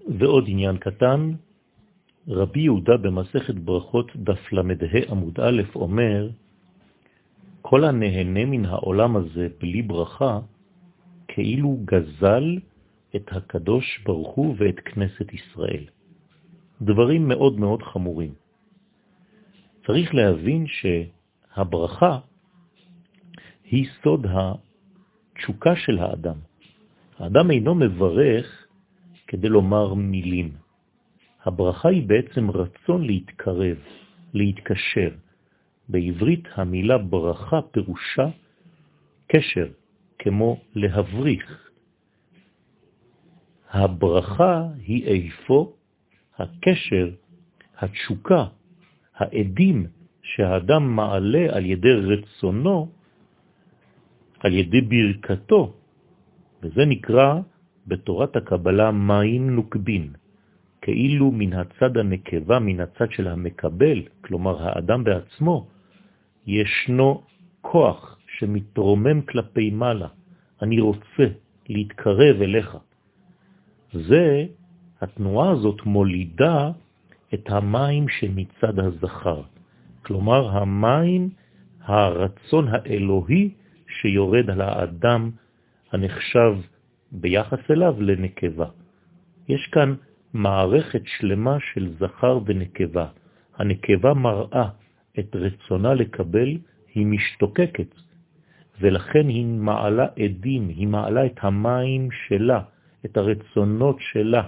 ועוד עניין קטן, רבי יהודה במסכת ברכות דף למדה עמוד א' אומר, כל הנהנה מן העולם הזה בלי ברכה, כאילו גזל את הקדוש ברוך הוא ואת כנסת ישראל. דברים מאוד מאוד חמורים. צריך להבין שהברכה היא סוד התשוקה של האדם. האדם אינו מברך כדי לומר מילים. הברכה היא בעצם רצון להתקרב, להתקשר. בעברית המילה ברכה פירושה קשר, כמו להבריך. הברכה היא איפה הקשר, התשוקה, העדים שהאדם מעלה על ידי רצונו, על ידי ברכתו, וזה נקרא בתורת הקבלה מים נוקבין, כאילו מן הצד הנקבה, מן הצד של המקבל, כלומר האדם בעצמו, ישנו כוח שמתרומם כלפי מעלה. אני רוצה להתקרב אליך. זה, התנועה הזאת מולידה את המים שמצד הזכר. כלומר, המים, הרצון האלוהי שיורד על האדם הנחשב ביחס אליו לנקבה. יש כאן מערכת שלמה של זכר ונקבה. הנקבה מראה את רצונה לקבל, היא משתוקקת, ולכן היא מעלה עדים, היא מעלה את המים שלה, את הרצונות שלה.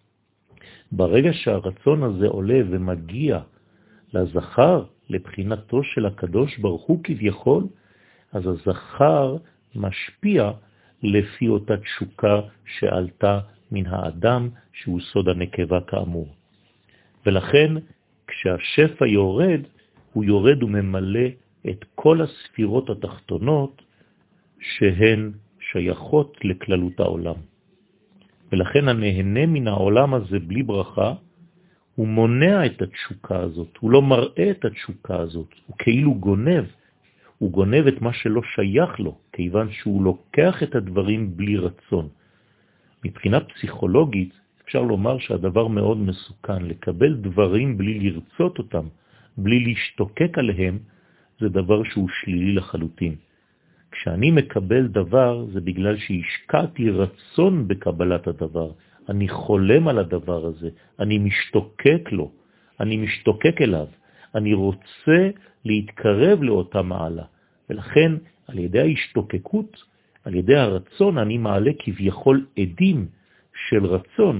ברגע שהרצון הזה עולה ומגיע לזכר, לבחינתו של הקדוש ברוך הוא כביכול, אז הזכר משפיע לפי אותה תשוקה שעלתה מן האדם, שהוא סוד הנקבה כאמור. ולכן כשהשפע יורד, הוא יורד וממלא את כל הספירות התחתונות שהן שייכות לכללות העולם. ולכן הנהנה מן העולם הזה בלי ברכה, הוא מונע את התשוקה הזאת, הוא לא מראה את התשוקה הזאת, הוא כאילו גונב, הוא גונב את מה שלא שייך לו, כיוון שהוא לוקח את הדברים בלי רצון. מבחינה פסיכולוגית אפשר לומר שהדבר מאוד מסוכן, לקבל דברים בלי לרצות אותם, בלי להשתוקק עליהם, זה דבר שהוא שלילי לחלוטין. כשאני מקבל דבר זה בגלל שהשקעתי רצון בקבלת הדבר, אני חולם על הדבר הזה, אני משתוקק לו, אני משתוקק אליו, אני רוצה להתקרב לאותה מעלה, ולכן על ידי ההשתוקקות, על ידי הרצון, אני מעלה כביכול עדים של רצון,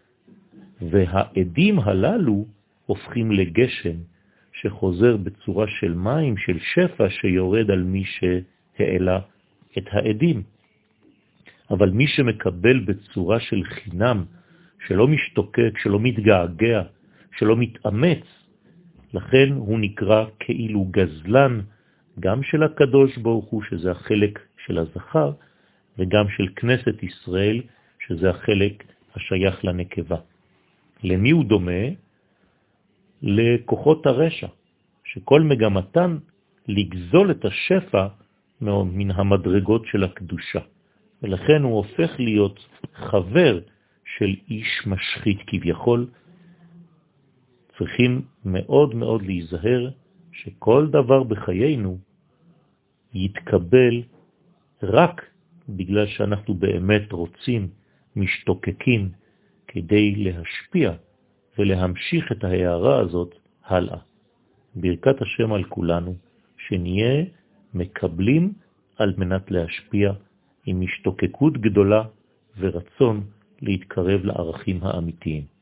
והעדים הללו הופכים לגשם שחוזר בצורה של מים, של שפע שיורד על מי שהעלה את העדים. אבל מי שמקבל בצורה של חינם, שלא משתוקק, שלא מתגעגע, שלא מתאמץ, לכן הוא נקרא כאילו גזלן, גם של הקדוש ברוך הוא, שזה החלק של הזכר, וגם של כנסת ישראל, שזה החלק השייך לנקבה. למי הוא דומה? לכוחות הרשע, שכל מגמתן לגזול את השפע מן המדרגות של הקדושה. ולכן הוא הופך להיות חבר של איש משחית כביכול. צריכים מאוד מאוד להיזהר שכל דבר בחיינו יתקבל רק בגלל שאנחנו באמת רוצים, משתוקקים, כדי להשפיע ולהמשיך את ההערה הזאת הלאה. ברכת השם על כולנו, שנהיה מקבלים על מנת להשפיע עם משתוקקות גדולה ורצון להתקרב לערכים האמיתיים.